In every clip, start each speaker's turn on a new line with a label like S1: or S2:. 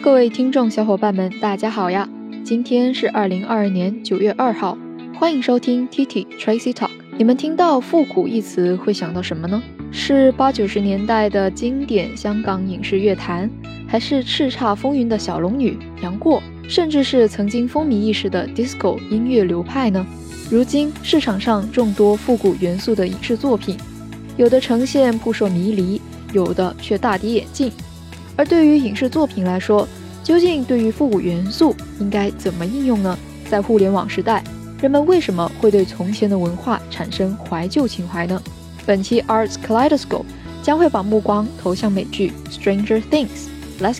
S1: 各位听众小伙伴们，大家好呀！今天是2022年9月2号，欢迎收听 TT Tracy Talk。你们听到复古一词会想到什么呢？是80-90年代的经典香港影视乐坛，还是叱咤风云的小龙女杨过，甚至是曾经风靡一时的 Disco 音乐流派呢？如今市场上众多复古元素的影视作品，有的呈现扑朔迷离，有的却大跌眼镜。而对于影视作品来说，究竟对于复古元素应该怎么应用呢？在互联网时代，人们为什么会对从前的文化产生怀旧情怀呢？本期 Arts Kaleidoscope 将会把目光投向美剧 Stranger Things。Let's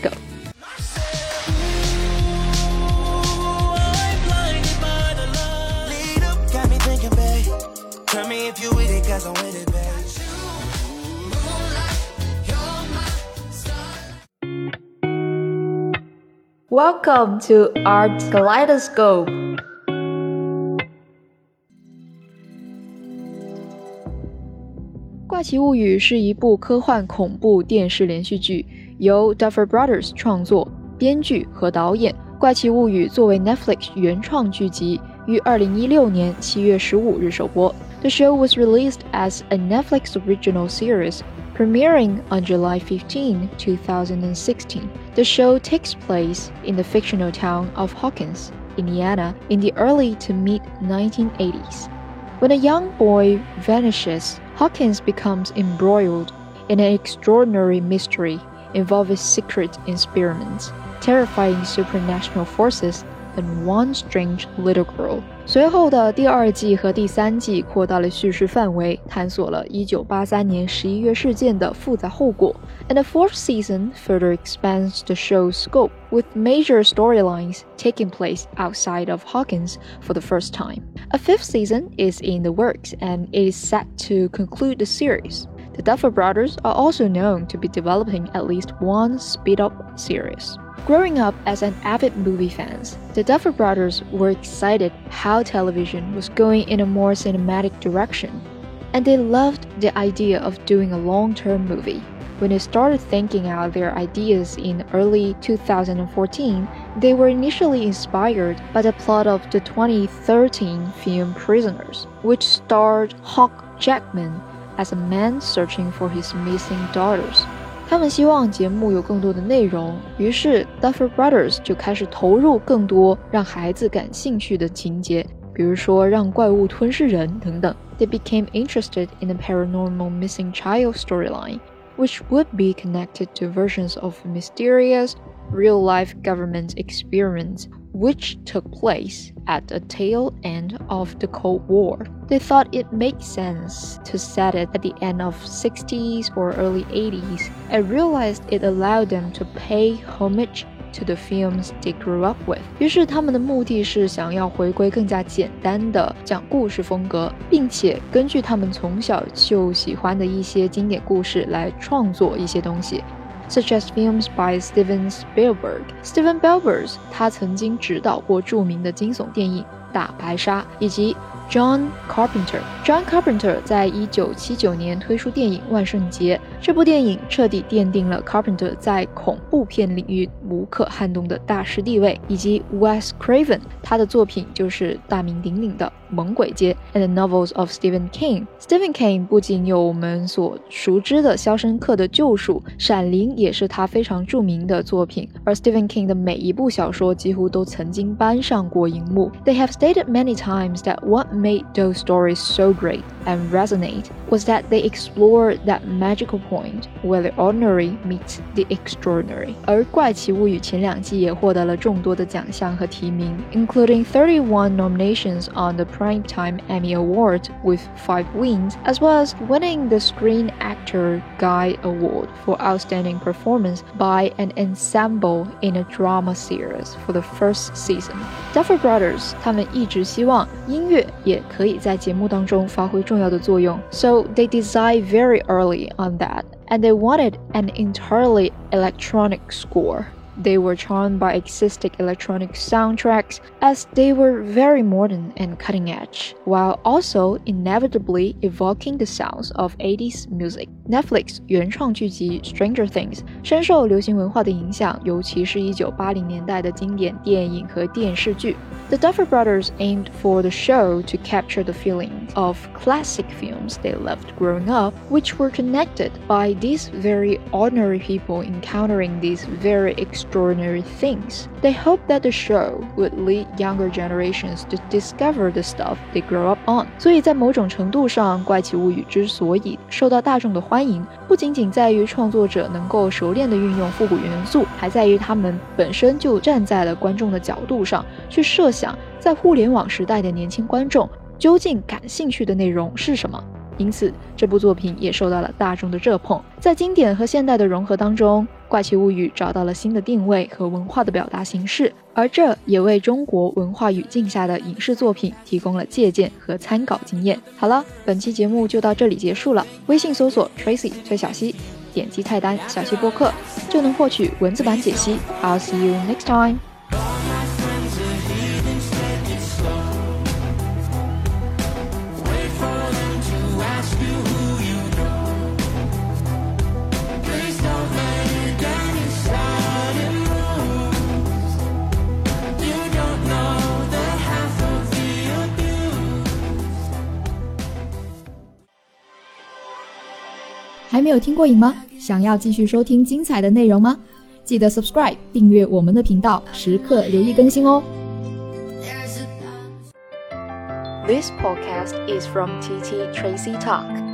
S1: go！Welcome to Arts Kaleidoscope。 怪奇物语是一部科幻恐怖电视连续剧，由 Duffer Brothers 创作、编剧和导演。怪奇物语作为 Netflix 原创剧集，于2016年7月15日首播。The show was released as a Netflix original series, premiering on July 15, 2016. The show takes place in the fictional town of Hawkins, Indiana, in the early to mid-1980s. When a young boy vanishes, Hawkins becomes embroiled in an extraordinary mystery involving secret experiments, terrifying supernatural forces, and one strange little girl. 随后的第二季和第三季扩大了叙事范围，探索了1983年11月事件的复杂后果。And the fourth season further expands the show's scope, with major storylines taking place outside of Hawkins for the first time. A fifth season is in the works, and it is set to conclude the series. The Duffer Brothers are also known to be developing at least one speed-up series. Growing up as an avid movie fans, the Duffer Brothers were excited how television was going in a more cinematic direction, and they loved the idea of doing a long-term movie. When they started thinking out their ideas in early 2014, they were initially inspired by the plot of the 2013 film Prisoners, which starred Hugh Jackman as a man searching for his missing daughters. 他们希望节目有更多的内容，于是 Duffer Brothers 就开始投入更多让孩子感兴趣的情节，比如说让怪物吞噬人等等。They became interested in the paranormal missing child storyline, which would be connected to versions of mysterious, real-life government experiments which took place at the tail end of the Cold War. They thought it made sense to set it at the end of 60s or early 80s, and realized it allowed them to pay homage to the films they grew up with. 于是他们的目的是想要回归更加简单的讲故事风格，并且根据他们从小就喜欢的一些经典故事来创作一些东西。Such as films by Steven Spielberg. Steven Spielberg 他曾经执导过著名的惊悚电影《大白鲨》，以及 John Carpenter 在1979年推出电影《万圣节》，这部电影彻底奠定了 Carpenter 在恐怖片领域无可撼动的大师地位，以及 Wes Craven 他的作品就是大名鼎鼎的《猛鬼街》 and the novels of Stephen King 不仅有我们所熟知的《肖申克的救赎》，《闪灵》也是他非常著名的作品，而 Stephen King 的每一部小说几乎都曾经搬上过荧幕。They have stated many times that what made those stories so great and resonate was that they explored that magical point where the ordinary meets the extraordinary. 而怪奇物语前两季也获得了众多的奖项和提名， including 31 nominations on the Primetime Emmy Award with 5 wins, as well as winning the Screen Actor Guild Award for Outstanding Performance by an Ensemble in a Drama Series for the first season. Duffer Brothers 他们一直希望音乐也可以在节目当中发挥重要的作用， so they decided very early on that, and they wanted an entirely electronic score. they were charmed by existing electronic soundtracks as they were very modern and cutting edge, while also inevitably evoking the sounds of 80s music. Netflix 原创剧集 Stranger Things 深受流行文化的影响，尤其是1980年代的经典电影和电视剧。The Duffer Brothers aimed for the show to capture the feeling of classic films they loved growing up, which were connected by these very ordinary people encountering these very extraordinary things. They hoped that the show would lead younger generations to discover the stuff they grow up on. 所以在某种程度上，怪奇物语之所以受到大众的欢迎，不仅仅在于创作者能够熟练地运用复古元素，还在于他们本身就站在了观众的角度上，去设想在互联网时代的年轻观众究竟感兴趣的内容是什么。因此这部作品也受到了大众的热捧。在经典和现代的融合当中，怪奇物语找到了新的定位和文化的表达形式，而这也为中国文化语境下的影视作品提供了借鉴和参考经验。好了，本期节目就到这里结束了。微信搜索 Tracy 崔小溪，点击菜单小溪播客就能获取文字版解析。I'll see you next time.
S2: 还没有听过瘾吗？想要继续收听精彩的内容吗？记得 subscribe 订阅我们的频道，时刻留意更新哦。
S1: This podcast is from TT Tracy Talk.